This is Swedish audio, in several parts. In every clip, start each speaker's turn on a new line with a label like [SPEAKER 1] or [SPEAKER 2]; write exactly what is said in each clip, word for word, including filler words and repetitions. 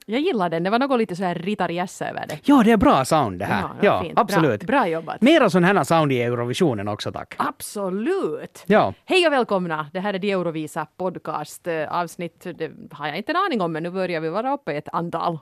[SPEAKER 1] Jag gillar den. Det var något lite så här ritarjässa över det.
[SPEAKER 2] Ja, det är bra sound det här.
[SPEAKER 1] Ja,
[SPEAKER 2] ja
[SPEAKER 1] fint.
[SPEAKER 2] absolut.
[SPEAKER 1] Bra, bra jobbat.
[SPEAKER 2] Mera sån här sound i Eurovisionen också, tack.
[SPEAKER 1] Absolut.
[SPEAKER 2] Ja.
[SPEAKER 1] Hej och välkomna. Det här är de Eurovisa podcast avsnitt. Det har jag inte en aning om, men nu börjar vi vara uppe i ett antal.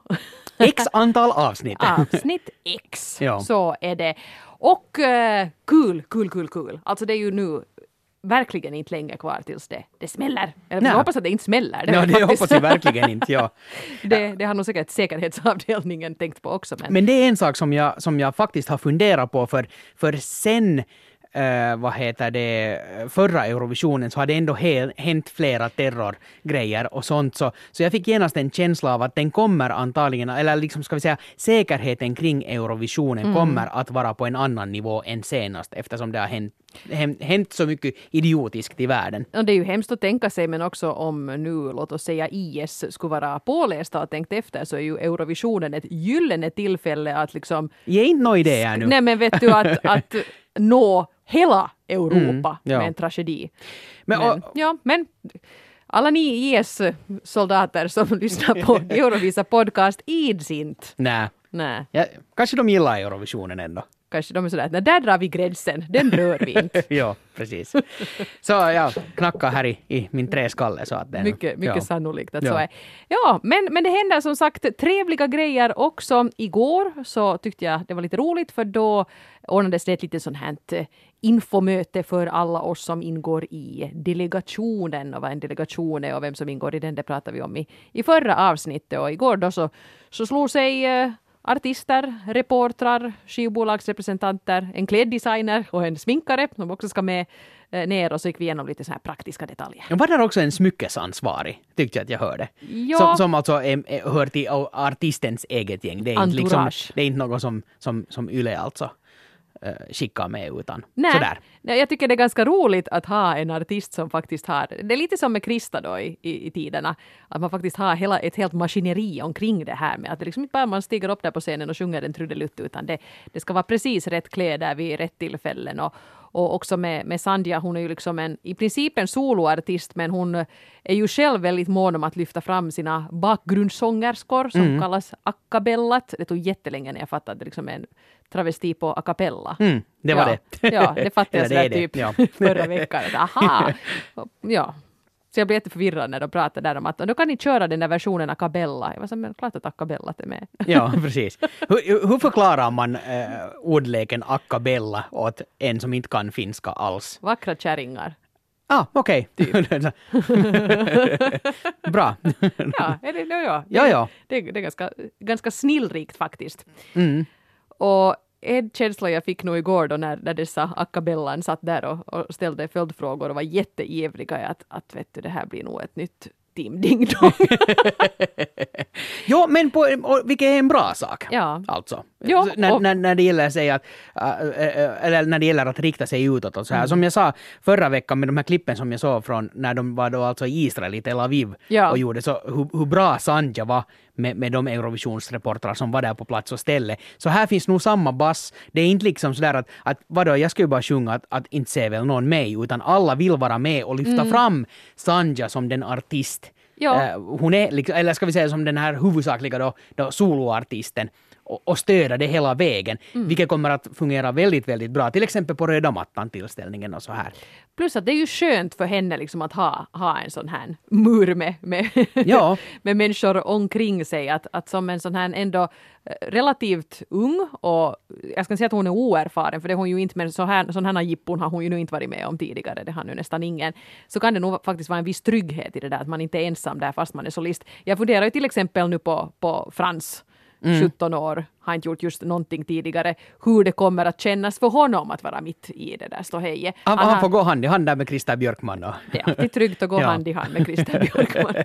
[SPEAKER 2] X antal avsnitt.
[SPEAKER 1] Avsnitt X.
[SPEAKER 2] Ja.
[SPEAKER 1] Så är det. Och uh, kul, kul, kul, kul. Alltså det är ju nu verkligen inte länge kvar tills det, det smäller. Jag
[SPEAKER 2] Nej.
[SPEAKER 1] hoppas att det inte smäller. Det,
[SPEAKER 2] Ja, det
[SPEAKER 1] faktiskt.
[SPEAKER 2] hoppas jag verkligen inte, ja.
[SPEAKER 1] det, det har nog säkert säkerhetsavdelningen tänkt på också. Men,
[SPEAKER 2] Men det är en sak som jag, som jag faktiskt har funderat på, för, för sen Uh, vad heter det, förra Eurovisionen så har det ändå he- hänt flera terrorgrejer och sånt, så, så jag fick genast en känsla av att den kommer antagligen, eller liksom ska vi säga säkerheten kring Eurovisionen mm. kommer att vara på en annan nivå än senast, eftersom det har hänt, hänt, hänt så mycket idiotiskt i världen.
[SPEAKER 1] Och det är ju hemskt att tänka sig, men också om nu, låt oss säga I S skulle vara pålästa och tänkt efter, så är ju Eurovisionen ett gyllene tillfälle att liksom...
[SPEAKER 2] Ge inte någon idé här nu.
[SPEAKER 1] Nej, men vet du att, att nå hela Europa mm, ja. med en tragedi. Men, men, och, ja, men alla ni I S-soldater som lyssnar på Eurovisa podcast ids inte.
[SPEAKER 2] Nej.
[SPEAKER 1] Nej.
[SPEAKER 2] Ja, kanske de gillar Eurovisionen ändå.
[SPEAKER 1] Kanske de är sådär, där drar vi gränsen, den rör vi inte.
[SPEAKER 2] Ja, precis. Så jag knackar här i, i min träskalle. Så att den,
[SPEAKER 1] mycket mycket
[SPEAKER 2] ja.
[SPEAKER 1] sannolikt att
[SPEAKER 2] ja.
[SPEAKER 1] så är. Ja, men, men det händer som sagt trevliga grejer också. Igår så tyckte jag det var lite roligt, för då ordnades det ett lite sånt här infomöte för alla oss som ingår i delegationen. Och vad en delegation är och vem som ingår i den, det pratade vi om i, i förra avsnittet. Och igår då så, så slog sig... Eh, artister, reportrar, skivbolagsrepresentanter, en kläddesigner och en sminkare som också ska med eh, ner, och så gick vi igenom lite så här praktiska detaljer.
[SPEAKER 2] Var där också en smyckesansvarig, tyckte jag att jag hörde.
[SPEAKER 1] Ja.
[SPEAKER 2] Som, som alltså är, är, hör till artistens eget gäng. Det är inte, liksom, det är inte något som, som, som Yle alltså skickar med, utan
[SPEAKER 1] Nej.
[SPEAKER 2] sådär.
[SPEAKER 1] Nej, jag tycker det är ganska roligt att ha en artist som faktiskt har, det är lite som med Krista då i, i, i tiderna, att man faktiskt har hela, ett helt maskineri omkring det här med att det liksom inte bara man stiger upp där på scenen och sjunger en trudelutt, utan det, det ska vara precis rätt kläder vid rätt tillfällen. Och, och också med, med Sandhja, hon är ju liksom en, i princip en soloartist, men hon är ju själv väldigt mån om att lyfta fram sina bakgrundssångerskor som mm. kallas a cappellat. Det tog jättelänge när jag fattade att det liksom är en travesti på a cappella.
[SPEAKER 2] Mm, det var
[SPEAKER 1] ja,
[SPEAKER 2] det.
[SPEAKER 1] Ja, det fattade jag sådär
[SPEAKER 2] det
[SPEAKER 1] typ
[SPEAKER 2] ja.
[SPEAKER 1] förra veckan. Aha! Ja. Så jag blev jätteförvirrad när de pratade där om att då kan ni köra den där versionen a cappella. Jag var så, men klart att a cappella är med.
[SPEAKER 2] Ja, precis. Hur, hur förklarar man äh, ordleken a cappella åt en som inte kan finska alls?
[SPEAKER 1] Vackra kärringar.
[SPEAKER 2] Ah, okej. Okay.
[SPEAKER 1] Typ.
[SPEAKER 2] Bra.
[SPEAKER 1] Ja, det, det, ja.
[SPEAKER 2] ja, ja.
[SPEAKER 1] Det, det är ganska, ganska snillrikt faktiskt.
[SPEAKER 2] Mm.
[SPEAKER 1] Och en känsla jag fick nog igår då när, när dessa a cappellan satt där och, och ställde följdfrågor och var jätteivriga att, att vet du, det här blir nog ett nytt Team Ding Dong.
[SPEAKER 2] Jo, men på, vilket är en bra sak.
[SPEAKER 1] Ja.
[SPEAKER 2] Alltså.
[SPEAKER 1] Jo,
[SPEAKER 2] när, när, när det gäller sig att, äh, eller när det gäller att rikta sig utåt och så här. Mm. Som jag sa förra veckan med de här klippen som jag såg från när de var då alltså i Israel, i Tel Aviv,
[SPEAKER 1] ja.
[SPEAKER 2] och gjorde så hur, hur bra Sandhja var med, med de Eurovisionsreportrar som var där på plats och ställe. Så här finns nog samma bass. Det är inte liksom sådär att, att vadå, jag ska ju bara sjunga att, att inte se väl någon mig, utan alla vill vara med och lyfta mm. fram Sandhja som den artist.
[SPEAKER 1] Ja.
[SPEAKER 2] Uh, hon är, liksom, eller ska vi säga som den här huvudsakliga då, då soloartisten, och, och stöda det hela vägen, mm. vilket kommer att fungera väldigt, väldigt bra. Till exempel på röda mattan-tillställningen och så här.
[SPEAKER 1] Plus att det är ju skönt för henne liksom att ha, ha en sån här mur med, med,
[SPEAKER 2] ja.
[SPEAKER 1] med människor omkring sig. Att, att som en sån här ändå relativt ung, och jag ska säga att hon är oerfaren, för det har hon ju inte, men så här, sån här jippon har hon ju nu inte varit med om tidigare, det har nu nästan ingen. Så kan det nog faktiskt vara en viss trygghet i det där, att man inte är ensam där fast man är solist. Jag funderar ju till exempel nu på, på Frans, mm. sjutton år, har inte gjort just någonting tidigare, hur det kommer att kännas för honom att vara mitt i det där ståheje.
[SPEAKER 2] Han, han, han får gå hand i hand där med Christer Björkman. Och.
[SPEAKER 1] Det är alltid tryggt att gå ja. hand i hand med Christer Björkman.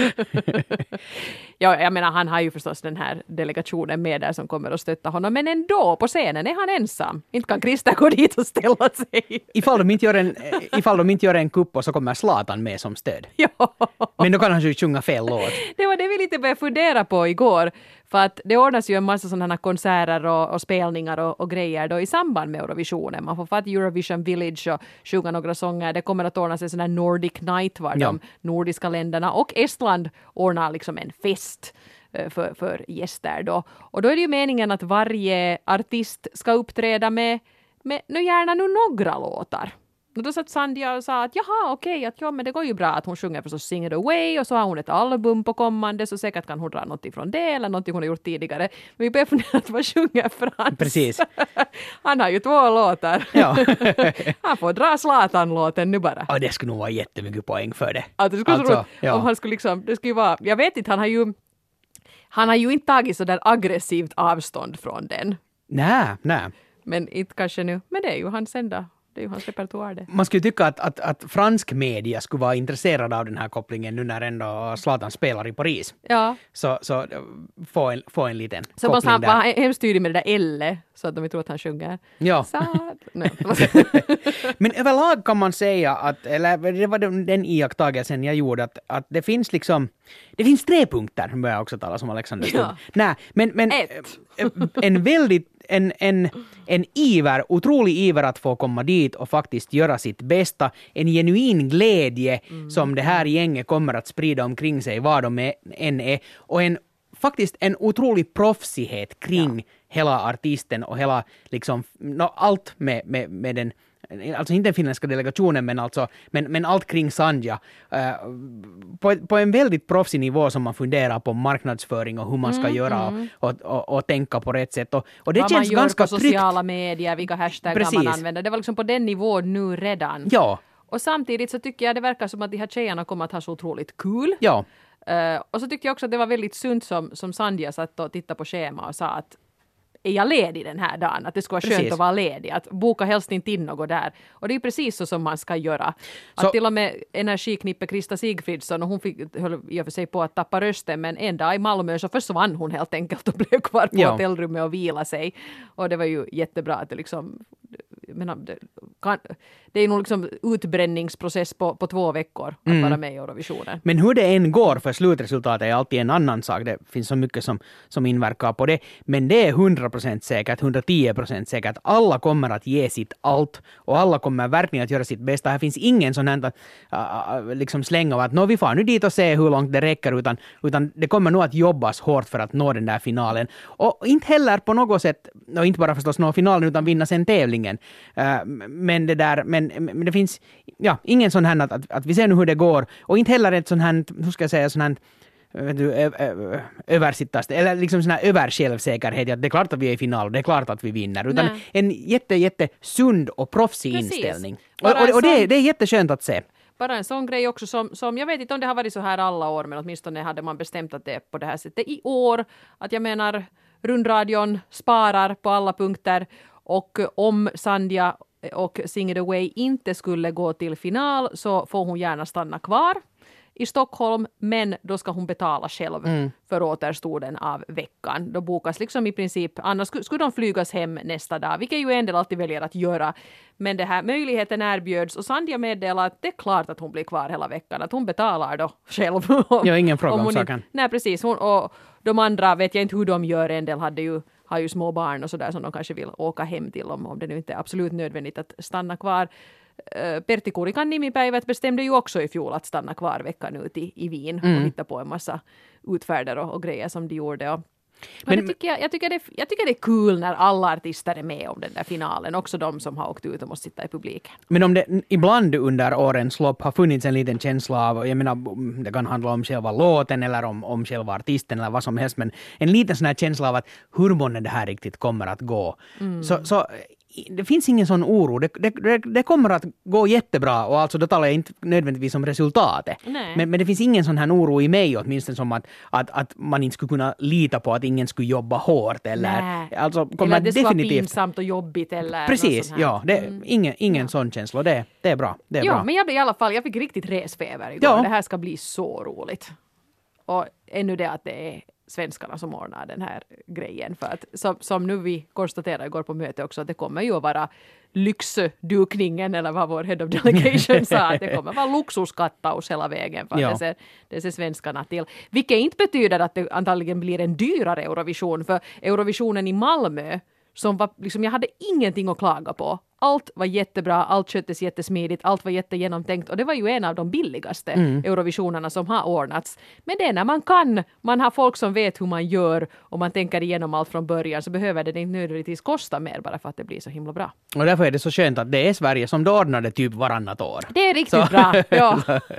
[SPEAKER 1] Ja, jag menar, han har ju förstås den här delegationen med där som kommer att stötta honom, men ändå på scenen är han ensam. Inte kan Christer gå dit och ställa sig.
[SPEAKER 2] Ifall de inte gör en, ifall de inte gör en kupp och så kommer Zlatan med som stöd.
[SPEAKER 1] Ja.
[SPEAKER 2] Men då kan han ju sjunga fel låt.
[SPEAKER 1] Det var det vi lite började fundera på igår. För att det ordnas ju en massa sådana konserter och, och spelningar och, och grejer då i samband med Eurovisionen. Man får få till Eurovision Village och sjunga några sånger. Det kommer att ordnas en sån här Nordic Night var ja. de nordiska länderna och Estland ordnar liksom en fest för, för gäster då. Och då är det ju meningen att varje artist ska uppträda med, med nu gärna nu några låtar. Och då satt Sandhya och sa att jaha okej, okay, att ja men det går ju bra att hon sjunger förstås Sing It Away och så har hon ett album på kommande så säkert kan hon dra något ifrån det eller något hon har gjort tidigare. Men vi börjar fundera att vad sjunger Frans?
[SPEAKER 2] Precis.
[SPEAKER 1] Han har ju två låtar.
[SPEAKER 2] Ja.
[SPEAKER 1] Han får dra Zlatan-låten nu bara.
[SPEAKER 2] Och det skulle nog vara jättemycket poäng för det.
[SPEAKER 1] Att det skulle
[SPEAKER 2] alltså,
[SPEAKER 1] så
[SPEAKER 2] ja.
[SPEAKER 1] om han skulle liksom, det skulle ju vara, jag vet inte, han har ju han har ju inte tagit så där aggressivt avstånd från den.
[SPEAKER 2] Nej, nej.
[SPEAKER 1] Men inte kanske nu, men det är ju hans enda. Det är ju hans repertoar det.
[SPEAKER 2] Man skulle tycka att, att, att fransk media skulle vara intresserad av den här kopplingen nu när ändå Zlatan spelar i Paris.
[SPEAKER 1] Ja.
[SPEAKER 2] Så, så få, en, få en liten
[SPEAKER 1] så
[SPEAKER 2] koppling
[SPEAKER 1] måste han
[SPEAKER 2] där.
[SPEAKER 1] vara hemskt tydlig med det där L så att de inte tror att han sjunger.
[SPEAKER 2] Ja.
[SPEAKER 1] Nej.
[SPEAKER 2] Men överlag kan man säga att, eller det var den, den iakttagelsen jag gjorde, att, att det finns liksom, det finns tre punkter, börjar jag också tala som Alexander Stubb.
[SPEAKER 1] Ja.
[SPEAKER 2] Nej, men, men
[SPEAKER 1] Ett.
[SPEAKER 2] en väldigt En, en, en iver, otrolig iver att få komma dit och faktiskt göra sitt bästa. En genuin glädje mm. som det här gänget kommer att sprida omkring sig var de är, än är. Och en, faktiskt en otrolig proffsighet kring ja. hela artisten och hela liksom, no, allt med, med, med den, alltså inte den finländska delegationen men alltså, men, men allt kring Sandhya uh, på, på en väldigt proffsig nivå som man funderar på marknadsföring och hur man ska mm, göra mm. Och, och, och, och tänka på rätt sätt och, och det
[SPEAKER 1] vad
[SPEAKER 2] känns
[SPEAKER 1] man
[SPEAKER 2] ganska
[SPEAKER 1] gör på
[SPEAKER 2] tryggt.
[SPEAKER 1] Sociala medier, vilka hashtaggar man använder, det var liksom på den nivån nu redan.
[SPEAKER 2] Ja.
[SPEAKER 1] Och samtidigt så tycker jag det verkar som att de här tjejerna kommer att ha så otroligt kul.
[SPEAKER 2] Ja.
[SPEAKER 1] Uh, och så tyckte jag också att det var väldigt sunt som, som Sandhya satt och tittade på schema och sa att är jag ledig den här dagen? Att det ska vara skönt
[SPEAKER 2] precis.
[SPEAKER 1] att vara ledig. Att boka helst inte in något där. Och det är ju precis så som man ska göra.
[SPEAKER 2] Så,
[SPEAKER 1] att till och med energiknippe Krista Sigfridsson och hon fick, höll i och för sig på att tappa rösten men en dag i Malmö så försvann hon helt enkelt och blev kvar på ja. hotellrummet och vila sig. Och det var ju jättebra att det liksom menar, det, kan, det är nog liksom utbränningsprocess på, på två veckor att mm. vara med i Eurovisionen.
[SPEAKER 2] Men hur det än går för slutresultatet är alltid en annan sak. Det finns så mycket som, som inverkar på det. Men det är hundra procent säkert, hundratio procent säkert. Alla kommer att ge sitt allt och alla kommer verkligen att göra sitt bästa. Här finns ingen sån här uh, liksom släng av att nå vi får nu dit och se hur långt det räcker utan, utan det kommer nog att jobbas hårt för att nå den där finalen. Och inte heller på något sätt, och inte bara förstås nå finalen utan vinna sen tävlingen. Uh, men det där, men, men det finns ja, ingen sån här att, att, att vi ser nu hur det går och inte heller ett sån här, hur ska jag säga, sån här översittast eller liksom sån här översjälvsäkerhet att det är klart att vi är i final och det är klart att vi vinner utan Nej. en jätte, jätte sund och proffsig Precis. inställning. Och, och, och det, det är jätteskönt att se.
[SPEAKER 1] Bara en sån grej också som, som, jag vet inte om det har varit så här alla år men åtminstone hade man bestämt att det är på det här sättet i år. Att jag menar, rundradion sparar på alla punkter och om Sandhya och Sing It Away inte skulle gå till final så får hon gärna stanna kvar i Stockholm, men då ska hon betala själv mm. för återstoden av veckan. Då bokas liksom i princip, annars skulle, skulle de flygas hem nästa dag, vilket ju en del alltid väljer att göra. Men det här möjligheten erbjöds och Sandhya meddelar att det är klart att hon blir kvar hela veckan, att hon betalar då själv.
[SPEAKER 2] Ja, ingen fråga om, om saken.
[SPEAKER 1] Inte, nej, precis. Hon, och de andra vet jag inte hur de gör, en del hade ju har ju små barn och sådär som de kanske vill åka hem till om, om det nu inte är absolut nödvändigt att stanna kvar. Uh, Pertti Kurikan nimipäivät bestämde ju också i fjol att stanna kvar veckan ut i, i Wien mm. och hitta på en massa utfärder och, och grejer som de gjorde. Och, men det tycker jag, jag, tycker det, jag tycker det är kul när alla artister är med om den där finalen, också de som har åkt ut och måste sitta i publiken.
[SPEAKER 2] Men om det ibland under årens lopp har funnits en liten känsla av, jag menar det kan handla om själva låten eller om, om själva artisten eller vad som helst, men en liten sån här känsla av att hur många det här riktigt kommer att gå. Mm. Så, så det finns ingen sån oro. Det, det, det kommer att gå jättebra och alltså då talar jag inte nödvändigtvis om resultatet. Men, men det finns ingen sån här oro i mig åtminstone som att, att, att man inte skulle kunna lita på att ingen skulle jobba hårt eller, alltså, kommer
[SPEAKER 1] eller det skulle
[SPEAKER 2] definitivt
[SPEAKER 1] vara pinsamt och jobbigt eller
[SPEAKER 2] precis, ja. Det, mm. Ingen, ingen ja. sån känsla. Det, det är bra. Det är
[SPEAKER 1] ja,
[SPEAKER 2] bra.
[SPEAKER 1] Men jag blev i alla fall, jag fick riktigt resfeber igår.
[SPEAKER 2] Ja.
[SPEAKER 1] Det här ska bli så roligt. Och ännu det att det är svenskarna som ordnar den här grejen. För att som, som nu vi konstaterade igår på möte också att det kommer ju att vara lyxdukningen eller vad vår head of delegation sa. Att det kommer att vara luxuskattaus hela vägen för att ja. det, ser, det ser svenskarna till. Vilket inte betyder att det antagligen blir en dyrare Eurovision. För Eurovisionen i Malmö som var, liksom, jag hade ingenting att klaga på. allt var jättebra, allt sköttes jättesmidigt, allt var jättegenomtänkt och det var ju en av de billigaste mm. Eurovisionerna som har ordnats. Men det är när man kan, man har folk som vet hur man gör och man tänker igenom allt från början, så behöver det inte nödvändigtvis kosta mer bara för att det blir så himla bra.
[SPEAKER 2] Och därför är det så skönt att det är Sverige som då ordnar det typ varannat år.
[SPEAKER 1] Det är riktigt så. Bra, ja.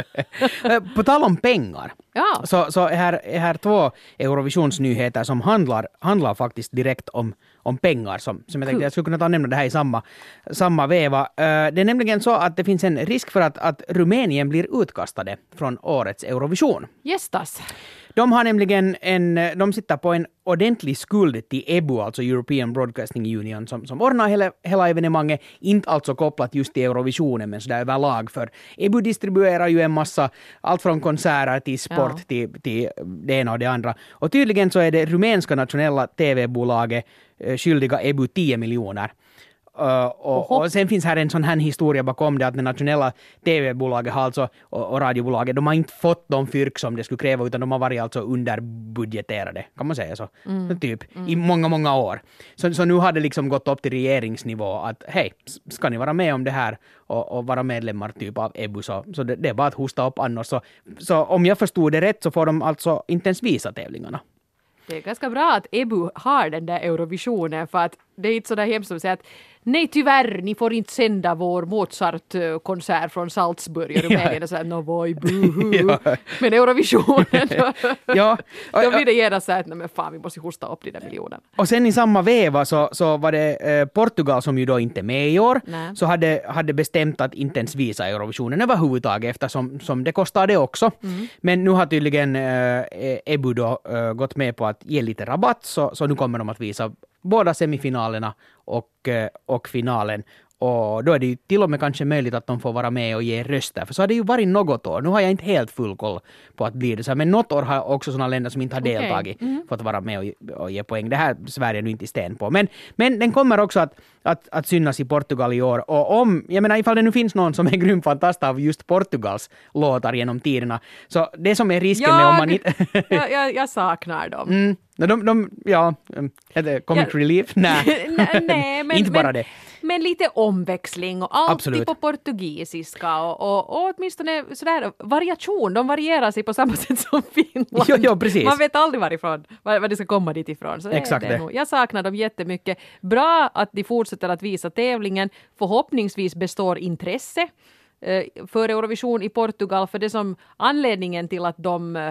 [SPEAKER 2] På tal om pengar,
[SPEAKER 1] ja.
[SPEAKER 2] så, så är här, är här två Eurovisionsnyheter som handlar, handlar faktiskt direkt om, om pengar som, som jag tänkte cool. Jag skulle kunna ta och nämna det här i samma, samma veva. Uh, det är nämligen så att det finns en risk för att, att Rumänien blir utkastade från årets Eurovision.
[SPEAKER 1] Gästas.
[SPEAKER 2] De har nämligen en, de sitter på en ordentlig skuld till E B U, alltså European Broadcasting Union, som, som ordnar hela, hela evenemanget, inte alltså kopplat just till Eurovisionen, men sådär överlag, för E B U distribuerar ju en massa, allt från konserter till sport ja. till, till det ena och det andra. Och tydligen så är det rumänska nationella T V-bolaget eh, skyldiga E B U tio miljoner. Uh, och, och sen finns här en sån här historia bakom det, att det nationella T V-bolaget har alltså, och, och radiobolaget, de har inte fått de fyrk som det skulle kräva, utan de har varit alltså underbudgeterade, kan man säga så, mm. typ, mm. i många, många år. Så, så nu har det liksom gått upp till regeringsnivå att hej, ska ni vara med om det här och, och vara medlemmar typ av E B U, så, så det, det är bara att hosta upp annars. Så, så om jag förstod det rätt så får de alltså inte ens visa tävlingarna.
[SPEAKER 1] Det är ganska bra att E B U har den där Eurovisionen, för att det är inte så där hemskt som säger att nej tyvärr, ni får inte sända vår Mozart-konsert från Salzburg i Rumänien. Och så här, no boy, boohoo. Ja. Men Eurovisionen,
[SPEAKER 2] ja.
[SPEAKER 1] då blir det gärna så att nej men fan, vi måste hosta upp de där miljonerna.
[SPEAKER 2] Och sen i samma veva så, så var det eh, Portugal, som ju då inte är med i år, nej. så hade, hade bestämt att inte ens visa Eurovisionen överhuvudtaget, eftersom som det kostar det också. Mm. Men nu har tydligen eh, E B U då eh, gått med på att ge lite rabatt, så, så nu kommer de att visa båda semifinalerna och, och finalen. Och då är det ju till och med kanske möjligt att de får vara med och ge röster. För så har det ju varit något år. Nu har jag inte helt full koll på att bli det så här. Men något år har också sådana länder som inte har okay. deltagit mm. fått vara med och, och ge poäng. Det här Sverige nu inte i sten på. Men, men den kommer också att, att, att synas i Portugal i år. Och om, jag menar ifall det nu finns någon som är grym fantast av just Portugals låtar genom tiderna. Så det som är risken
[SPEAKER 1] jag,
[SPEAKER 2] med om man inte...
[SPEAKER 1] jag, jag, jag saknar dem.
[SPEAKER 2] Mm. De, de, ja, heter Comic ja. Relief? Nej,
[SPEAKER 1] Nej men,
[SPEAKER 2] inte bara
[SPEAKER 1] men,
[SPEAKER 2] det.
[SPEAKER 1] Men lite omväxling och alltid
[SPEAKER 2] Absolut.
[SPEAKER 1] på portugisiska och, och, och åtminstone sådär variation. De varierar sig på samma sätt som Finland.
[SPEAKER 2] Jo, jo, precis.
[SPEAKER 1] Man vet aldrig varifrån, var, var det ska komma dit ifrån. Så
[SPEAKER 2] Exakt
[SPEAKER 1] det, det
[SPEAKER 2] det.
[SPEAKER 1] Jag saknar dem jättemycket. Bra att de fortsätter att visa tävlingen. Förhoppningsvis består intresse eh, för Eurovision i Portugal. För det som anledningen till att de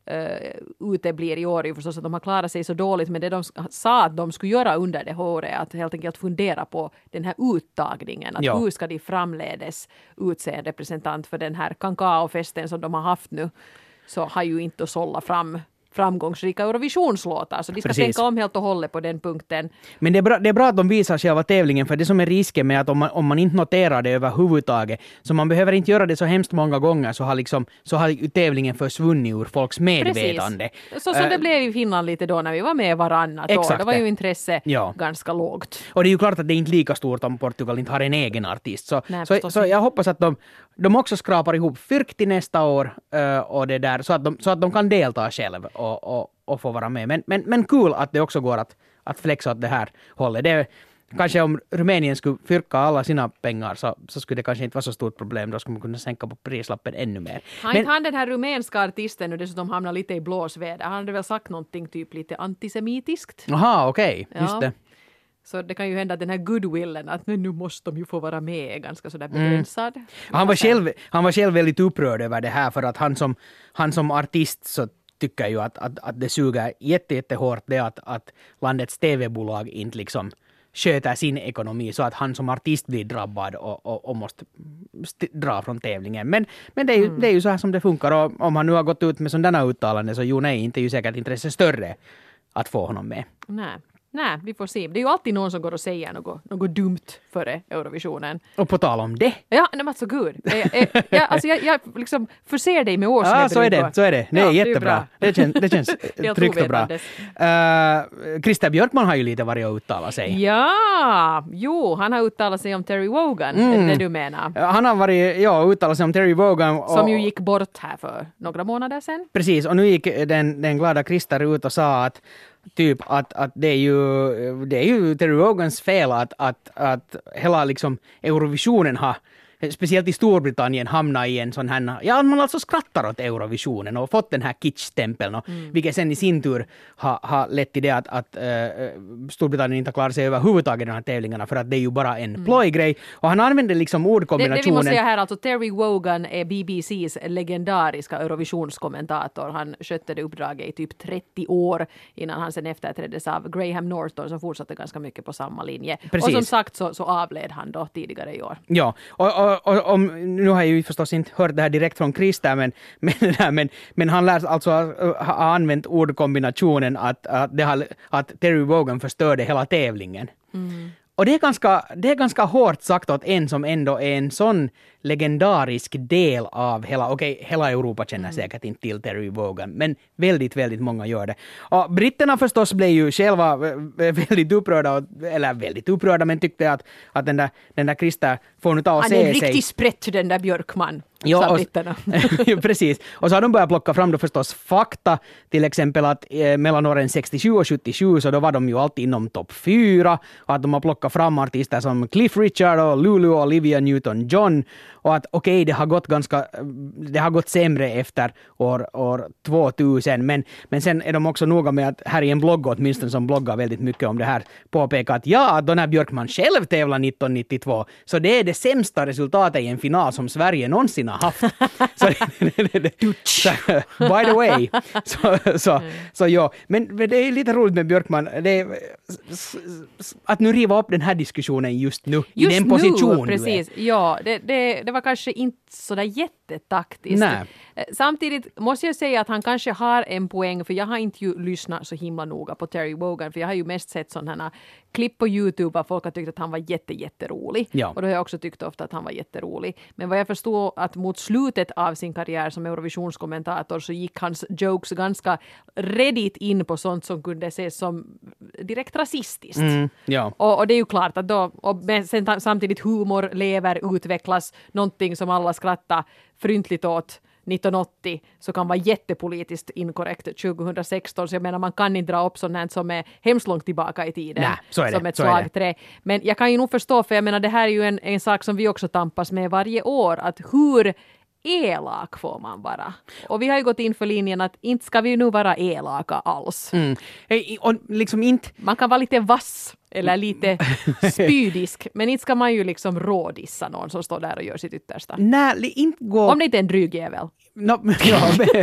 [SPEAKER 1] Uh, uteblir i år är förstås att de har klarat sig så dåligt, men det de sa att de skulle göra under det året att helt enkelt fundera på den här uttagningen, att ja. hur ska de framledes utse en representant för den här kakaofesten som de har haft nu, så har ju inte att sålla fram framgångsrika Eurovisionslåtar, så de ska Precis. tänka om helt och hållet på den punkten.
[SPEAKER 2] Men det är, bra, det är bra att de visar själva tävlingen, för det som är risken med att om man, om man inte noterar det överhuvudtaget, så man behöver inte göra det så hemskt många gånger, så har, liksom, så har tävlingen försvunnit ur folks medvetande.
[SPEAKER 1] Precis. Så som uh, det blev i Finland lite då när vi var med varannat år. Det var ju intresse ja. ganska lågt.
[SPEAKER 2] Och det är ju klart att det är inte lika stort om Portugal inte har en egen artist. Så,
[SPEAKER 1] Nej,
[SPEAKER 2] så, så jag hoppas att de, de också skrapar ihop fyrk till nästa år uh, och det där, så, att de, så att de kan delta själv och, och, och få vara med. Men, men, men kul att det också går att, att flexa åt det här hållet. Det, kanske om Rumänien skulle fyrka alla sina pengar, så, så skulle det kanske inte vara så stort problem. Då skulle man kunna sänka på prislappen ännu mer.
[SPEAKER 1] Har inte han den här rumänska artisten nu dessutom hamnar lite i blåsväder? Han hade väl sagt någonting typ lite antisemitiskt?
[SPEAKER 2] Jaha, okej. Okay. Just
[SPEAKER 1] ja.
[SPEAKER 2] det.
[SPEAKER 1] Så det kan ju hända att den här goodwillen, att nu måste de ju få vara med, är ganska sådär begränsad. Mm.
[SPEAKER 2] Han, var själv, han var själv väldigt upprörd över det här, för att han som, han som artist så tycker ju att, att, att det suger jätte, jättehårt det att, att landets T V-bolag inte liksom sköter sin ekonomi, så att han som artist blir drabbad och, och, och måste st- dra från tävlingen. Men, men det, är ju, mm. det är ju så här som det funkar, och om han nu har gått ut med sådana uttalanden, så jo nej, inte är ju säkert intresse större att få honom med.
[SPEAKER 1] Nej. Nej, vi får se. Det är ju alltid någon som går och säger något, något dumt före Eurovisionen.
[SPEAKER 2] Och på tal om det.
[SPEAKER 1] Ja, nej men så gud. Jag, jag, alltså jag, jag liksom förser dig med årsnäbbring.
[SPEAKER 2] Ja, så är det. Så är det. Nej, ja, jättebra. Det, det känns, det känns tryggt och bra. Uh, Christer Björkman har ju lite varit och uttalat sig.
[SPEAKER 1] Ja, jo, han har uttalat sig om Terry Wogan, mm. det du menar.
[SPEAKER 2] Han har varit, ja, uttalat sig om Terry Wogan. Och,
[SPEAKER 1] som ju gick bort här för några månader sedan.
[SPEAKER 2] Precis, och nu gick den, den glada Christer ut och sa att typ att, att det är ju det är ju Terry Vogans fel att, att, att hela liksom Eurovisionen har speciellt i Storbritannien hamna i en sån här, ja man alltså skrattar åt Eurovisionen och fått den här kitsch-stämpeln och mm. vilket sen i sin tur har, har lett till det att, att uh, Storbritannien inte klarar sig överhuvudtaget i de här tävlingarna för att det är ju bara en mm. plojgrej och han använder liksom ordkombinationen. Det,
[SPEAKER 1] det vi måste säga här, alltså Terry Wogan är B B C:s legendariska Eurovisionskommentator. Han skötte det uppdraget i typ trettio år innan han sen efterträddes av Graham Norton som fortsatte ganska mycket på samma linje. Precis. Och som sagt så, så avled han då tidigare i år.
[SPEAKER 2] Ja, och, och Och, och, om, nu har jag ju förstås inte hört det här direkt från Krista, men, men, men, men han lär alltså ha, ha använt ordkombinationen att, att, det har, att Terry Wogan förstörde hela tävlingen. Mm. Och det är, ganska, det är ganska hårt sagt åt en som ändå är en sån legendarisk del av hela, okej, okay, hela Europa känner mm. säkert inte till Terry Wogan, men väldigt, väldigt många gör det. Och britterna förstås blev ju själva väldigt upprörda, eller väldigt upprörda, men tyckte att, att den där, den där Krista får nu ta och se sig.
[SPEAKER 1] Han är en riktig sprätt, den där Björkman.
[SPEAKER 2] Ja, och, precis. Och så har de börjat plocka fram då förstås fakta, till exempel att eh, mellan åren sextiosju och sjuttiosju så då var de ju alltid inom topp fyra och att de har plockat fram artister som Cliff Richard och Lulu och Olivia Newton-John och att okej, okay, det har gått ganska det har gått sämre efter år, år tvåtusen, men, men sen är de också noga med att här i en blogg åtminstone som bloggar väldigt mycket om det här påpekar att ja, då när Björkman själv tävlar nittonhundranittiotvå så det är det sämsta resultatet i en final som Sverige någonsin har haft. Så, så, by the way. Så, så, mm. så ja, men, men det är lite roligt med Björkman. Det är, att nu riva upp den här diskussionen just nu.
[SPEAKER 1] Just
[SPEAKER 2] i den
[SPEAKER 1] nu,
[SPEAKER 2] position
[SPEAKER 1] precis. Ja, det, det, det var kanske inte så där jättetaktiskt.
[SPEAKER 2] Nej.
[SPEAKER 1] Samtidigt måste jag säga att han kanske har en poäng, för jag har inte ju lyssnat så himla noga på Terry Wogan, för jag har ju mest sett sådana klipp på YouTube av folk har tyckt att han var jätte, jätterolig. Ja. Och då har jag också tyckt ofta att han var jätterolig. Men vad jag förstår att mot slutet av sin karriär som Eurovisionskommentator så gick hans jokes ganska redigt in på sånt som kunde ses som direkt rasistiskt. Mm, ja. och, och det är ju klart att då, och sen, samtidigt humor lever, utvecklas, någonting som alla skrattar fryntligt åt nittonhundraåttio så kan vara jättepolitiskt inkorrekt tjugohundrasexton, så jag menar man kan inte dra upp sånt här som är hemskt långt tillbaka i tiden.
[SPEAKER 2] Nä, så är det,
[SPEAKER 1] som ett
[SPEAKER 2] så
[SPEAKER 1] slagträ. Men jag kan ju nog förstå, för jag menar det här är ju en, en sak som vi också tampas med varje år, att hur elak får man vara. Och vi har ju gått in för linjen att inte ska vi nu vara elaka alls.
[SPEAKER 2] Mm. Och liksom inte...
[SPEAKER 1] Man kan vara lite vass eller lite spydisk, men inte ska man ju liksom rådissa någon som står där och gör sitt yttersta.
[SPEAKER 2] Nej, inte gå...
[SPEAKER 1] Om det inte är en dryg jävel.
[SPEAKER 2] No, ja,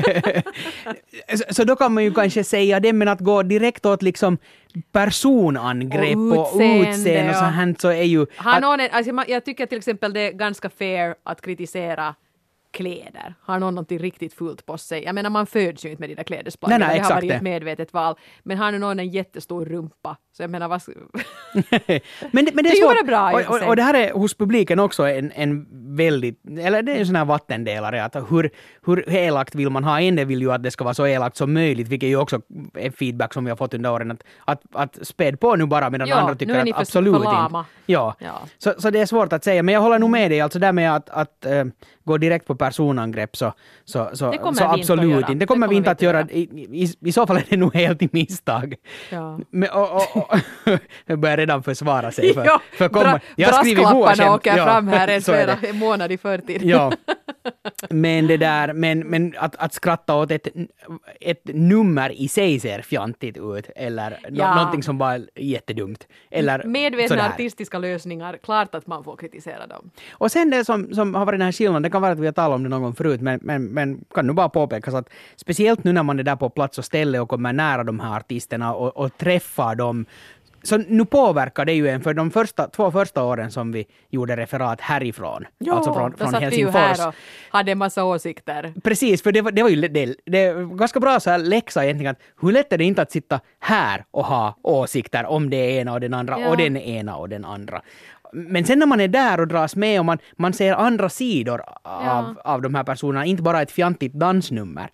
[SPEAKER 2] så, så då kan man ju kanske säga det, men att gå direkt åt liksom personangrepp och utseende, och, utseende och så här så är ju...
[SPEAKER 1] Att, någon, alltså, jag tycker till exempel det är ganska fair att kritisera kläder. Har någon någonting riktigt fult på sig? Jag menar, man föds ju inte med de där klädesplaggen. Det har varit ett medvetet val. Men har nu någon en jättestor rumpa? Så jag menar, vad...
[SPEAKER 2] men, det, men det är,
[SPEAKER 1] det
[SPEAKER 2] svårt.
[SPEAKER 1] Bra,
[SPEAKER 2] och, och, och det här är hos publiken också en, en väldigt... Eller det är en sån här vattendelare. Att hur, hur elakt vill man ha? En del vill ju att det ska vara så elakt som möjligt. Vilket ju också är feedback som vi har fått under åren. Att, att, att späd på nu bara, medan
[SPEAKER 1] ja,
[SPEAKER 2] andra tycker att absolut inte. Ja. ja. Så, så det är svårt att säga. Men jag håller nog med dig. Alltså där med att, att äh, gå direkt på personangrepp så, så, så, så absolut inte. Det kommer, det kommer vi inte att göra. I, i, I så fall är det nog helt i misstag. Ja. Men, och, och, och, jag börjar redan försvara sig. För,
[SPEAKER 1] ja,
[SPEAKER 2] för komma,
[SPEAKER 1] bra,
[SPEAKER 2] jag
[SPEAKER 1] brasklapparna åker ja, fram här en flera månad i förtid.
[SPEAKER 2] Ja. Men det där, men, men att, att skratta åt ett, ett nummer i sig ser fjantigt ut. Eller ja. no, någonting som bara är jättedumt. Eller
[SPEAKER 1] medvetna
[SPEAKER 2] sådär.
[SPEAKER 1] Artistiska lösningar, klart att man får kritisera dem.
[SPEAKER 2] Och sen det som, som har varit den här skillnaden, det kan vara att vi har talat om det någon gång förut, men, men, men kan nu bara påpekas att speciellt nu när man är där på plats och ställe och kommer nära de här artisterna och, och träffar dem, så nu påverkar det ju en, för de första, två första åren som vi gjorde referat härifrån,
[SPEAKER 1] jo,
[SPEAKER 2] alltså från, från
[SPEAKER 1] då
[SPEAKER 2] Helsingfors.
[SPEAKER 1] Vi ju här och hade en massa åsikter.
[SPEAKER 2] Precis, för det var, det var ju det, det var ganska bra så här läxa egentligen, att hur lätt är det inte att sitta här och ha åsikter om det ena och den andra ja. och den ena och den andra. Men sen när man är där och dras med och man, man ser andra sidor av, ja. av de här personerna, inte bara ett fjantigt dansnummer,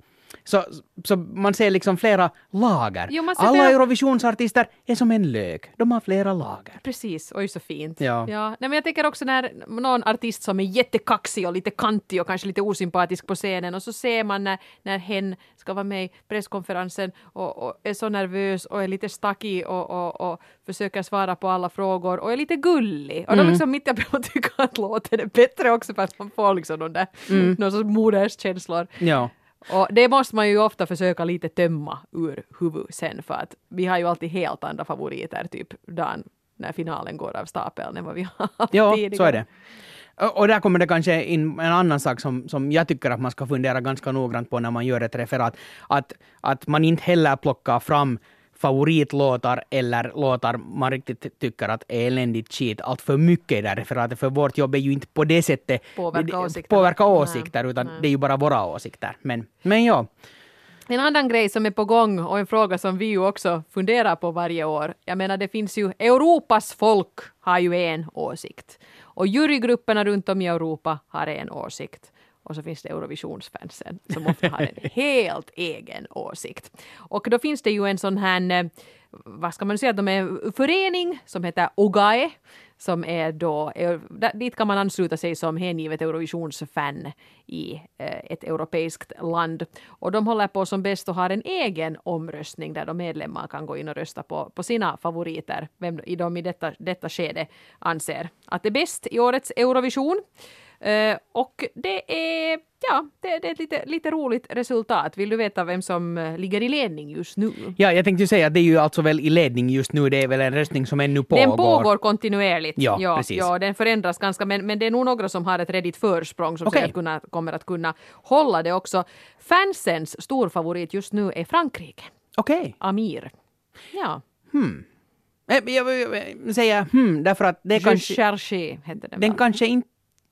[SPEAKER 2] Så, så man ser liksom flera lager.
[SPEAKER 1] Jo, man ser
[SPEAKER 2] Alla
[SPEAKER 1] flera-
[SPEAKER 2] Eurovisionsartister är som en lök. De har flera lager.
[SPEAKER 1] Precis, oj så fint.
[SPEAKER 2] Ja.
[SPEAKER 1] Ja. Nej, men jag tänker också när någon artist som är jättekaxig och lite kantig och kanske lite osympatisk på scenen och så ser man när, när hen ska vara med i presskonferensen och, och är så nervös och är lite stackig och, och, och försöker svara på alla frågor och är lite gullig. Och
[SPEAKER 2] Mm.
[SPEAKER 1] då liksom mitt jag på att tycka att låten är bättre också för att man får liksom de där mm. någon sorts moderskänslor.
[SPEAKER 2] Ja.
[SPEAKER 1] Och det måste man ju ofta försöka lite tömma ur huvudet sen för att vi har ju alltid helt andra favoriter typ dagen när finalen går av stapeln än vad vi har haft
[SPEAKER 2] Ja,
[SPEAKER 1] tidigare.
[SPEAKER 2] så är det. Och och där kommer det kanske in en annan sak som, som jag tycker att man ska fundera ganska noggrant på när man gör ett referat. Att, att man inte heller plockar fram favoritlåtar eller låtar man riktigt tycker att är eländigt skit allt för mycket i det här referatet. För vårt jobb är ju inte på det sättet
[SPEAKER 1] Påverka åsikter.
[SPEAKER 2] påverka åsikter
[SPEAKER 1] Nej,
[SPEAKER 2] utan
[SPEAKER 1] nej.
[SPEAKER 2] det är ju bara våra åsikter. Men, men ja.
[SPEAKER 1] En annan grej som är på gång och en fråga som vi ju också funderar på varje år. Jag menar det finns ju, Europas folk har ju en åsikt. Och jurygrupperna runt om i Europa har en åsikt. Och så finns det Eurovisionsfansen som ofta har en helt egen åsikt. Och då finns det ju en sån här, eh, vad ska man säga, de är en förening som heter OGAE. Som är då, eh, dit kan man ansluta sig som hängivet Eurovisionsfan i eh, ett europeiskt land. Och de håller på som bäst och har en egen omröstning där de medlemmar kan gå in och rösta på, på sina favoriter. Vem i de i detta, detta skede anser att det är bäst i årets Eurovision. Uh, och det är, ja, det, det är ett lite, lite roligt resultat. Vill du veta vem som uh, ligger i ledning just nu?
[SPEAKER 2] Ja, jag tänkte ju säga att det är ju alltså väl i ledning just nu. Det är väl en röstning som ännu pågår.
[SPEAKER 1] Den pågår kontinuerligt.
[SPEAKER 2] Ja,
[SPEAKER 1] ja,
[SPEAKER 2] precis.
[SPEAKER 1] ja, den förändras ganska, men, men det är nog några som har ett redigt försprång som
[SPEAKER 2] Okej.
[SPEAKER 1] säkert kunna, kommer att kunna hålla det också. Fansens storfavorit just nu är Frankrike.
[SPEAKER 2] Okej.
[SPEAKER 1] Amir. Ja.
[SPEAKER 2] Hmm. Eh, Jag vill säga hmm, därför att det
[SPEAKER 1] Je
[SPEAKER 2] kanske,
[SPEAKER 1] cherche heter den.
[SPEAKER 2] den
[SPEAKER 1] väl.
[SPEAKER 2] kanske inte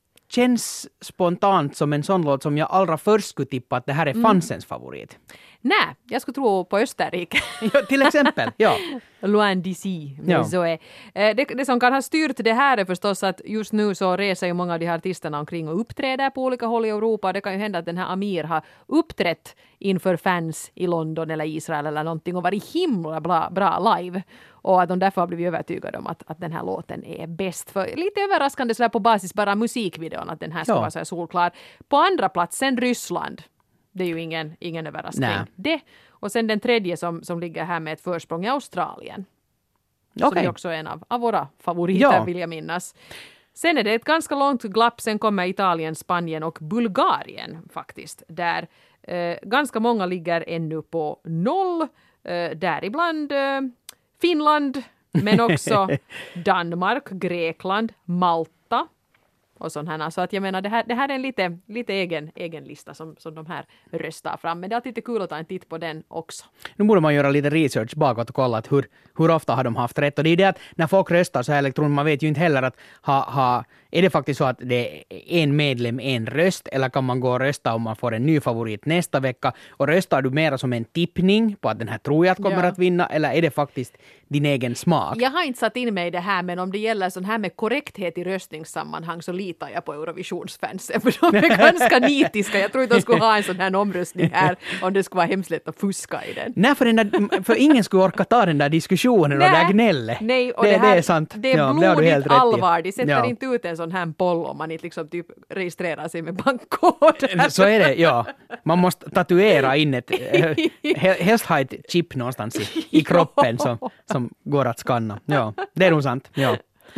[SPEAKER 2] känns spontant som en sån låt som jag allra först skulle tippa att det här är fansens favorit.
[SPEAKER 1] Nej, jag skulle tro på Österrike.
[SPEAKER 2] Ja, till exempel, ja.
[SPEAKER 1] Loin d'ici.
[SPEAKER 2] Ja.
[SPEAKER 1] Men så är. Eh, Det, det som kan ha styrt det här är förstås att just nu så reser ju många av de här artisterna omkring och uppträder på olika håll i Europa. Det kan ju hända att den här Amir har uppträtt inför fans i London eller Israel eller någonting och varit himla bra, bra live. Och att de därför har blivit övertygade om att, att den här låten är bäst. För lite överraskande så här på basis bara musikvideon att den här ska
[SPEAKER 2] Ja.
[SPEAKER 1] vara så här solklar. På andra platsen Ryssland. Det är ju ingen, ingen överraskning.
[SPEAKER 2] Nej.
[SPEAKER 1] Det. Och sen den tredje som, som ligger här med ett försprång i Australien. Som
[SPEAKER 2] Okej.
[SPEAKER 1] är också en av, av våra favoriter
[SPEAKER 2] Ja.
[SPEAKER 1] vill jag minnas. Sen är det ett ganska långt glapp. Sen kommer Italien, Spanien och Bulgarien faktiskt. Där eh, ganska många ligger ännu på noll. Eh, däribland eh, Finland. Men också Danmark, Grekland, Malta. Och sånt här. Så att jag menar, det här, det här är en lite, lite egen, egen lista som, som de här röstar fram. Men det är alltid lite kul att ta en titt på den också.
[SPEAKER 2] Nu borde man göra lite research bakåt och kolla att hur, hur ofta har de haft rätt. Och det är det att när folk röstar så här elektroniskt, man vet ju inte heller att ha, ha, är det faktiskt så att det är en medlem, en röst, eller kan man gå och rösta om man får en ny favorit nästa vecka? Och röstar du mera som en tippning på att den här tror jag att kommer
[SPEAKER 1] Ja.
[SPEAKER 2] att vinna, eller är det faktiskt din egen smak?
[SPEAKER 1] Jag har inte satt in mig i det här, men om det gäller sån här med korrekthet i röstningssammanhang så litar jag på Eurovisionsfansen. För de är ganska nitiska. Jag tror inte de skulle ha en sån här omröstning här om det skulle vara hemskt lätt att fuska i den.
[SPEAKER 2] Nej, för, den där, för ingen skulle orka ta den där diskussionen och det där gnället.
[SPEAKER 1] Nej, och
[SPEAKER 2] det,
[SPEAKER 1] det, här,
[SPEAKER 2] det är sant.
[SPEAKER 1] Det är
[SPEAKER 2] Ja, det har du helt
[SPEAKER 1] blodigt
[SPEAKER 2] rätt i.
[SPEAKER 1] allvar. De sätter
[SPEAKER 2] Ja.
[SPEAKER 1] inte ut en sån här poll om man inte liksom typ registrerar sig med bankkod.
[SPEAKER 2] Så är det, ja. Man måste tatuera in ett, eh, he- helst ha ett chip någonstans i, i kroppen som, som går att skanna. Ja, det är nog sant. Ja.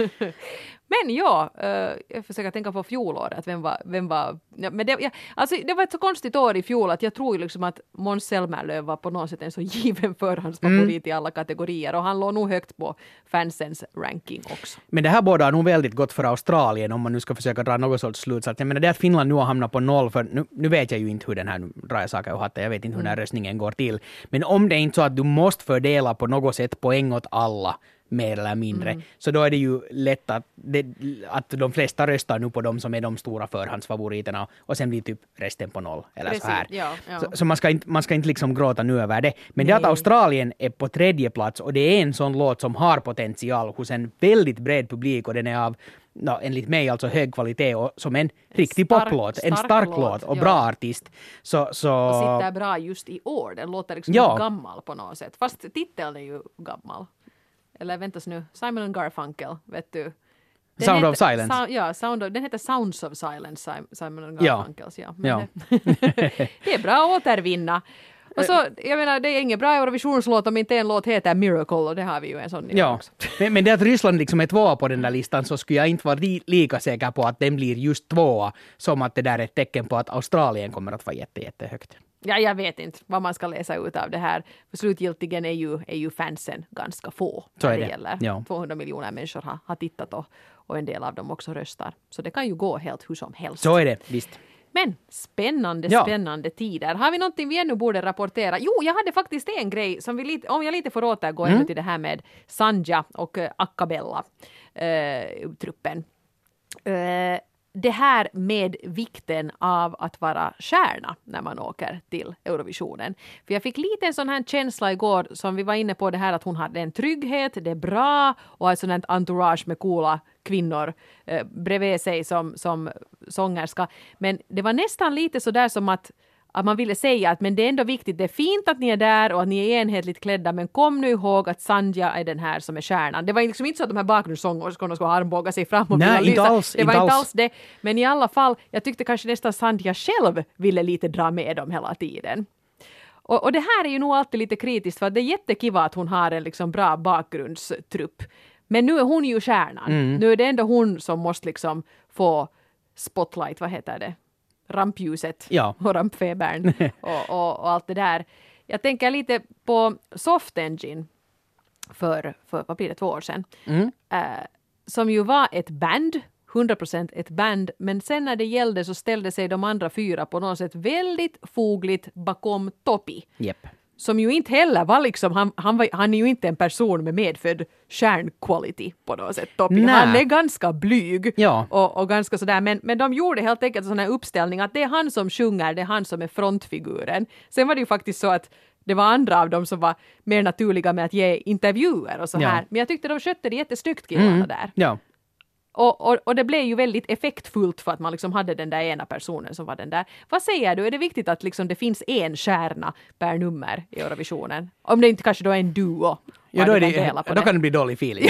[SPEAKER 1] Men ja, uh, jag försöker tänka på fjolåret. Vem var... Vem var ja, men det, ja, alltså, det var ett så konstigt år i fjol att jag tror ju liksom att Måns Zelmerlöw var på något sätt en så given förhandsfavorit mm. i alla kategorier. Och han låg nog högt på fansens ranking också.
[SPEAKER 2] Men det här båda är nog väldigt gott för Australien om man nu ska försöka dra något sorts slutsats. Jag menar det att Finland nu har hamnat på noll, för nu, nu vet jag ju inte hur den här, nu drar jag saker och hattar, jag vet inte hur den här röstningen går till. Men om det är inte så att du måste fördela på något sätt poäng åt alla, mer eller mindre, mm. så då är det ju lätt att, det, att de flesta röstar nu på de som är de stora förhandsfavoriterna och sen blir typ resten på noll. Eller
[SPEAKER 1] Precis,
[SPEAKER 2] så här.
[SPEAKER 1] ja, ja.
[SPEAKER 2] Så, så man, ska inte, man ska inte liksom gråta nu över det. Men
[SPEAKER 1] Nej.
[SPEAKER 2] det att Australien är på tredje plats och det är en sån låt som har potential hos en väldigt bred publik och den är av no, enligt mig alltså hög kvalitet och som en riktig
[SPEAKER 1] stark-
[SPEAKER 2] poplåt, en
[SPEAKER 1] stark
[SPEAKER 2] stark
[SPEAKER 1] låt,
[SPEAKER 2] låt och
[SPEAKER 1] ja.
[SPEAKER 2] bra artist. Så, så...
[SPEAKER 1] Och sitter bra just i år. Den låter liksom
[SPEAKER 2] Ja.
[SPEAKER 1] gammal på något sätt. Fast titeln är ju gammal. Eller väntas nu, Simon and Garfunkel, vet du. Den
[SPEAKER 2] Sound
[SPEAKER 1] heter,
[SPEAKER 2] of Silence.
[SPEAKER 1] Sou- ja, Sound of, den heter Sounds of Silence, Sim- Simon and
[SPEAKER 2] Ja.
[SPEAKER 1] Garfunkels. Ja. Men
[SPEAKER 2] Ja.
[SPEAKER 1] Det, det är bra att återvinna. Och så, jag menar, det är ingen bra Eurovisionslåt om inte en låt heter Miracle, och det har vi ju en sån i år
[SPEAKER 2] Ja,
[SPEAKER 1] också.
[SPEAKER 2] men, men det att Ryssland liksom är tvåa på den där listan, så skulle jag inte vara li, lika säker på att den blir just tvåa som att det där är ett tecken på att Australien kommer att vara jätte, jättehögt.
[SPEAKER 1] Ja, jag vet inte vad man ska läsa ut av det här. För slutgiltigen är ju, är ju fansen ganska få.
[SPEAKER 2] Så
[SPEAKER 1] när
[SPEAKER 2] är det.
[SPEAKER 1] gäller.
[SPEAKER 2] Ja.
[SPEAKER 1] tvåhundra miljoner människor har, har tittat och, och en del av dem också röstar. Så det kan ju gå helt hur som helst.
[SPEAKER 2] Så är det, visst.
[SPEAKER 1] Men spännande,
[SPEAKER 2] Ja.
[SPEAKER 1] spännande tider. Har vi någonting vi ännu borde rapportera? Jo, jag hade faktiskt en grej som vi lite, om jag lite får återgå mm. ännu till det här med Sanja och uh, Akabella uh, truppen. Uh, det här med vikten av att vara stjärna när man åker till Eurovisionen. För jag fick lite en sån här känsla igår som vi var inne på, det här att hon hade en trygghet, det är bra, och ett sånt här entourage med coola kvinnor eh, bredvid sig som, som sångerska. Men det var nästan lite så där som att att man ville säga att men det är ändå viktigt, det är fint att ni är där och att ni är enhetligt klädda, men kom nu ihåg att Sanja är den här som är stjärnan. Det var liksom inte så att de här bakgrundssångerskorna skulle armbåga sig fram och
[SPEAKER 2] Nej,
[SPEAKER 1] vilja
[SPEAKER 2] inte
[SPEAKER 1] lysa.
[SPEAKER 2] alls,
[SPEAKER 1] Det var
[SPEAKER 2] inte
[SPEAKER 1] inte
[SPEAKER 2] alls.
[SPEAKER 1] alls det. Men i alla fall, jag tyckte kanske nästan Sanja själv ville lite dra med dem hela tiden. Och, och det här är ju nog alltid lite kritiskt, för att det är jättekiva att hon har en liksom bra bakgrundstrupp. Men nu är hon ju stjärnan.
[SPEAKER 2] Mm.
[SPEAKER 1] Nu är det ändå hon som måste liksom få spotlight, vad heter det? Rampljuset
[SPEAKER 2] Ja.
[SPEAKER 1] och rampfebern och, och, och allt det där. Jag tänker lite på Soft Engine för, för vad blir det, två år sedan.
[SPEAKER 2] Mm.
[SPEAKER 1] Eh, som ju var ett band, hundra procent ett band, men sen när det gällde så ställde sig de andra fyra på något sätt väldigt fogligt bakom Topi.
[SPEAKER 2] Jepp.
[SPEAKER 1] Som ju inte heller var liksom, han, han, var, han är ju inte en person med medfödd stjärnquality på något sätt. Topi.
[SPEAKER 2] Nä.
[SPEAKER 1] Han är ganska blyg
[SPEAKER 2] Ja.
[SPEAKER 1] och, och ganska sådär, men, men de gjorde helt enkelt en sån här uppställning att det är han som sjunger, det är han som är frontfiguren. Sen var det ju faktiskt så att det var andra av dem som var mer naturliga med att ge intervjuer och så
[SPEAKER 2] Ja.
[SPEAKER 1] här. Men jag tyckte de skötte det jättesnyggt, killarna
[SPEAKER 2] Mm.
[SPEAKER 1] där.
[SPEAKER 2] Ja.
[SPEAKER 1] Och, och, och det blev ju väldigt effektfullt för att man liksom hade den där ena personen som var den där. Vad säger du? Är det viktigt att liksom det finns en stjärna per nummer i Eurovisionen? Om det inte kanske då är en duo.
[SPEAKER 2] Ja, då, är
[SPEAKER 1] kan
[SPEAKER 2] det,
[SPEAKER 1] dela på
[SPEAKER 2] då kan det bli dålig feeling.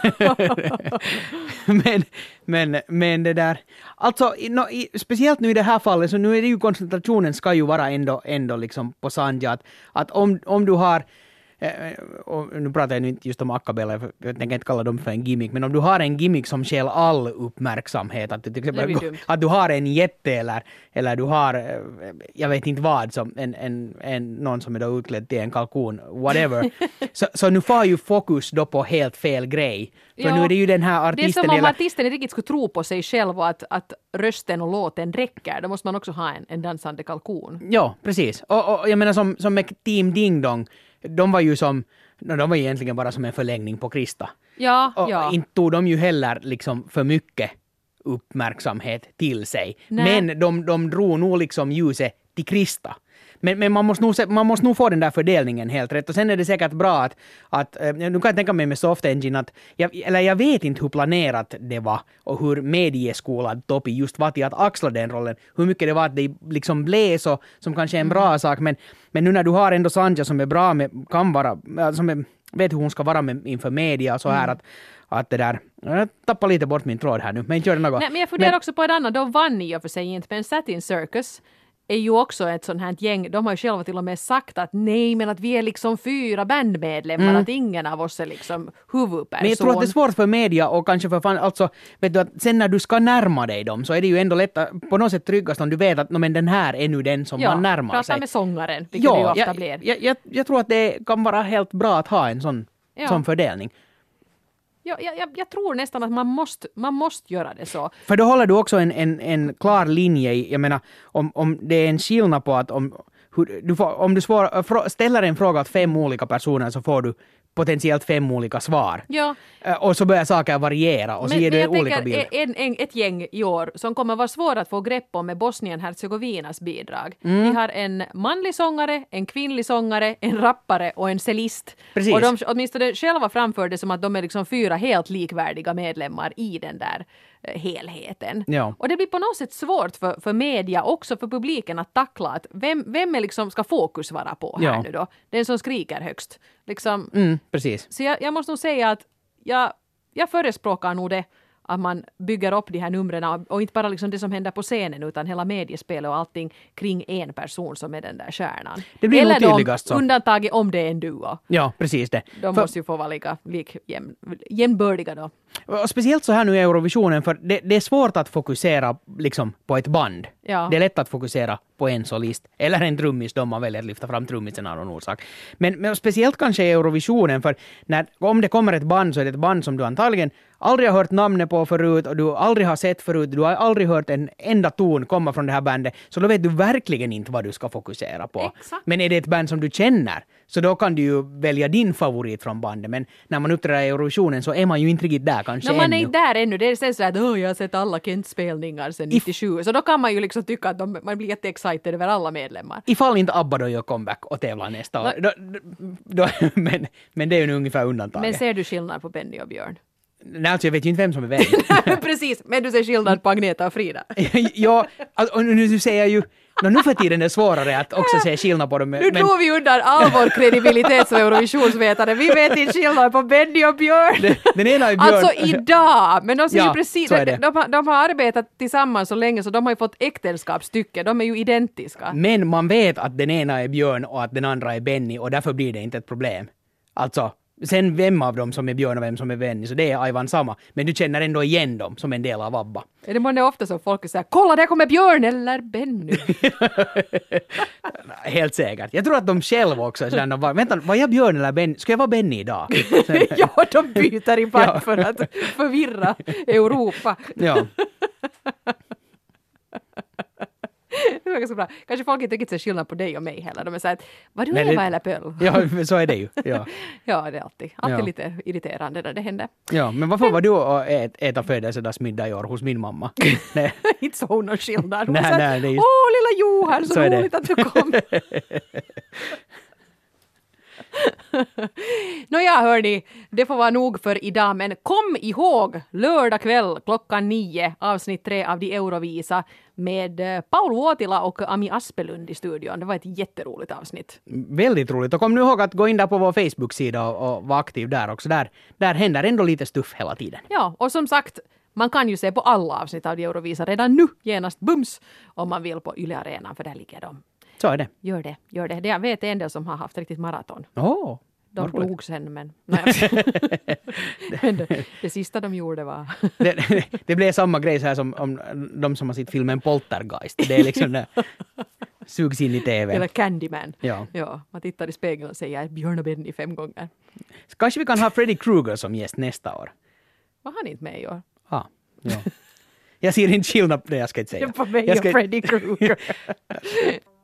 [SPEAKER 2] men, men, men det där... Alltså, i, no, i, speciellt nu i det här fallet, så nu är det ju koncentrationen ska ju vara ändå, ändå liksom på Sanja. Att, att om, om du har... Eh, och nu pratar jag nu inte just om Akabella, för jag tänker inte kalla dem för en gimmick, men om du har en gimmick som skäl all uppmärksamhet, att, du till exempel,
[SPEAKER 1] Det blir dumt.
[SPEAKER 2] att du har en jätte eller, eller du har, eh, jag vet inte vad, som en, en, en, någon som är då utklädd till en kalkon, whatever. så, så nu får ju fokus då på helt fel grej. För
[SPEAKER 1] Ja,
[SPEAKER 2] nu är det ju den här
[SPEAKER 1] Det är
[SPEAKER 2] artisten...
[SPEAKER 1] som om
[SPEAKER 2] eller-
[SPEAKER 1] artisten inte riktigt skulle tro på sig själv och att, att rösten och låten räcker. Då måste man också ha en, en dansande kalkon.
[SPEAKER 2] Ja, precis. Och, och jag menar som, som med Team Ding Dong, de var ju som, no, de var ju egentligen bara som en förlängning på Krista.
[SPEAKER 1] Ja,
[SPEAKER 2] Och
[SPEAKER 1] ja.
[SPEAKER 2] inte tog de ju heller liksom för mycket uppmärksamhet till sig.
[SPEAKER 1] Nej.
[SPEAKER 2] Men de, de drog nog liksom ljuset till Krista. Men, men man, måste nog, se- man måste nog få den där fördelningen helt rätt. Och sen är det säkert bra att, att eh, nu kan jag tänka mig med Soft Engine att, jag, eller jag vet inte hur planerat det var och hur medieskolad Topi just var till att axla den rollen. Hur mycket det var att det liksom blev så, som kanske är en bra
[SPEAKER 1] Mm.
[SPEAKER 2] sak. Men, men nu när du har ändå Sanja som är bra med, kan vara, äh, som är, vet hur hon ska vara med, inför media och så här
[SPEAKER 1] Mm.
[SPEAKER 2] att, att det där, jag tappar lite bort min tråd här nu, men inte gör det något.
[SPEAKER 1] Nej, men jag funderar
[SPEAKER 2] Men-
[SPEAKER 1] också på ett annat. De vann i och för sig inte, men Satin Circus är ju också ett sånt här gäng. De har ju själva till och med sagt att nej, men att vi är liksom fyra bandmedlemmar,
[SPEAKER 2] Mm.
[SPEAKER 1] att ingen av oss är liksom huvudperson.
[SPEAKER 2] Men jag tror att det är svårt för media och kanske för fan, alltså, vet du att sen när du ska närma dig dem så är det ju ändå lätt, på något sätt tryggast om du vet att no, men den här är nu den som
[SPEAKER 1] ja,
[SPEAKER 2] man närmar
[SPEAKER 1] prata
[SPEAKER 2] sig.
[SPEAKER 1] med sångaren, vilket det ju
[SPEAKER 2] Ja,
[SPEAKER 1] ofta
[SPEAKER 2] jag,
[SPEAKER 1] blir.
[SPEAKER 2] jag, jag, jag tror att det kan vara helt bra att ha en sån,
[SPEAKER 1] Ja.
[SPEAKER 2] sån fördelning.
[SPEAKER 1] Ja, jag, jag, jag tror nästan att man måste, man måste göra det så.
[SPEAKER 2] För då håller du också en, en, en klar linje i, jag menar, om, om det är en skillnad på att om, hur, du får, om du svår, frå- ställer en fråga åt fem olika personer så får du potentiellt fem olika svar.
[SPEAKER 1] Ja,
[SPEAKER 2] Eh, Och så börjar saker variera och så ger du
[SPEAKER 1] jag
[SPEAKER 2] olika
[SPEAKER 1] tänker
[SPEAKER 2] bilder.
[SPEAKER 1] en, en, ett gäng i år som kommer vara svårt att få grepp om med Bosnien-Hercegovinas bidrag.
[SPEAKER 2] Mm.
[SPEAKER 1] Vi har en manlig sångare, en kvinnlig sångare, en rappare och en cellist.
[SPEAKER 2] Precis.
[SPEAKER 1] Och de åtminstone själva framför det som att de är liksom fyra helt likvärdiga medlemmar i den där eh, helheten.
[SPEAKER 2] Ja.
[SPEAKER 1] Och det blir på något sätt svårt för, för media, också för publiken att tackla att vem, vem är liksom ska fokus vara på här
[SPEAKER 2] Ja.
[SPEAKER 1] nu då? Den som skriker högst. Liksom,
[SPEAKER 2] Mm, precis.
[SPEAKER 1] så jag, jag måste nog säga att jag, jag förespråkar nog det att man bygger upp de här numren och, och inte bara liksom det som händer på scenen utan hela mediespelet och allting kring en person som är den där stjärnan.
[SPEAKER 2] Det blir nog
[SPEAKER 1] Eller de
[SPEAKER 2] tydligast så.
[SPEAKER 1] undantaget om det är en duo.
[SPEAKER 2] Ja, precis det.
[SPEAKER 1] De
[SPEAKER 2] För-
[SPEAKER 1] måste ju få vara lika lik, jäm, jämnbördiga då.
[SPEAKER 2] Och speciellt så här nu i Eurovisionen, för det, det är svårt att fokusera liksom på ett band.
[SPEAKER 1] Ja.
[SPEAKER 2] Det är lätt att fokusera på en solist, eller en trummis då man väljer att lyfta fram trummisen av någon orsak. Men, men speciellt kanske i Eurovisionen, för när, om det kommer ett band så är det ett band som du antagligen aldrig har hört namnet på förut och du aldrig har sett förut, du har aldrig hört en enda ton komma från det här bandet, så då vet du verkligen inte vad du ska fokusera på.
[SPEAKER 1] Exakt.
[SPEAKER 2] Men är det ett band som du känner, så då kan du ju välja din favorit från bandet. Men när man uppträder i Eurovisionen så är man ju inte riktigt där kanske
[SPEAKER 1] No, man
[SPEAKER 2] ännu.
[SPEAKER 1] är inte där ännu. Det är sen så att oh, jag har sett alla Kent-spelningar sedan nittiosju. Så då kan man ju liksom tycka att de, man blir jätteexcited över alla medlemmar.
[SPEAKER 2] Ifall inte ABBA då gör comeback och tävlar nästa år. Då, då, men, men det är ju ungefär undantaget.
[SPEAKER 1] Men ser du skillnad på Benny och Björn?
[SPEAKER 2] Nej, alltså jag vet ju inte vem som är vem.
[SPEAKER 1] Precis, men du ser skillnad på Agneta och Frida.
[SPEAKER 2] Ja, alltså, och nu du säger ju... No, nu för tiden är det svårare att också se skillnad på dem.
[SPEAKER 1] Nu
[SPEAKER 2] Men,
[SPEAKER 1] drog vi undan all vår kredibilitet som Eurovisionsvetare. Vi vet inte skillnad på Benny och Björn.
[SPEAKER 2] den ena är Björn.
[SPEAKER 1] Alltså idag! Men de ser
[SPEAKER 2] Ja,
[SPEAKER 1] ju precis...
[SPEAKER 2] så är
[SPEAKER 1] De,
[SPEAKER 2] det.
[SPEAKER 1] de, har- de har arbetat tillsammans så länge så de har ju fått äktenskapsstycke. De är ju identiska.
[SPEAKER 2] Men man vet att den ena är Björn och att den andra är Benny och därför blir det inte ett problem. Alltså, sen vem av dem som är Björn och vem som är Benny, så det är Aivan samma. Men du känner ändå igen dem som en del av ABBA.
[SPEAKER 1] Är det månne ofta som folk säger kolla där kommer Björn eller Benny.
[SPEAKER 2] Helt säkert. Jag tror att de själva också känner, var, vänta, var jag Björn eller Benny? Ska jag vara Benny idag? Sen,
[SPEAKER 1] Ja, de byter ibland
[SPEAKER 2] Ja.
[SPEAKER 1] för att förvirra Europa.
[SPEAKER 2] ja.
[SPEAKER 1] Det var ganska bra. Kanske folk inte riktigt ser skillnad på dig och mig heller. De är såhär, var du
[SPEAKER 2] Nej, det-
[SPEAKER 1] Eva eller Pöll?
[SPEAKER 2] Ja, så är det ju. Ja.
[SPEAKER 1] Ja, det är alltid, alltid
[SPEAKER 2] Ja.
[SPEAKER 1] lite irriterande när det händer.
[SPEAKER 2] Ja, men varför var du och ät, äta födelsedagsmiddag i år hos min mamma? Nej.
[SPEAKER 1] Inte så hon någon skillnad. Hon
[SPEAKER 2] Nej,
[SPEAKER 1] sa,
[SPEAKER 2] nej, det är just-
[SPEAKER 1] åh lilla Johan, så,
[SPEAKER 2] Så är det.
[SPEAKER 1] roligt att du kom. Nåja hörni, det får vara nog för idag, men kom ihåg lördag kväll klockan nio avsnitt tre av De Eurovisa med eh, Paul Vuotila och Ami Aspelund i studion. Det var ett jätteroligt avsnitt.
[SPEAKER 2] Väldigt roligt. Och kom nu ihåg att gå in där på vår Facebook-sida och, och vara aktiv där också. Där, där händer ändå lite stuff hela tiden.
[SPEAKER 1] Ja, och som sagt, man kan ju se på alla avsnitt av De Eurovisa redan nu, genast bums, om man vill på Yle Arenan, för där ligger de.
[SPEAKER 2] Så är det.
[SPEAKER 1] Gör det, gör det. det jag vet en del som har haft riktigt maraton.
[SPEAKER 2] Åh, oh,
[SPEAKER 1] De dog sen, men, nej, men det, det sista de gjorde var...
[SPEAKER 2] det, det, det blev samma grej så här som om de som har sett filmen Poltergeist. Det är liksom det sugs in i T V.
[SPEAKER 1] Eller Candyman.
[SPEAKER 2] Ja.
[SPEAKER 1] Ja, man tittar i spegeln och säger Björn och Benny fem gånger.
[SPEAKER 2] Kanske vi kan ha Freddy Krueger som gäst nästa år.
[SPEAKER 1] Var han inte med i år?
[SPEAKER 2] Ah, ja. Jag ser inte skillnad på det, jag ska inte säga.
[SPEAKER 1] På mig
[SPEAKER 2] Jag
[SPEAKER 1] och
[SPEAKER 2] ska-
[SPEAKER 1] Freddy Krueger.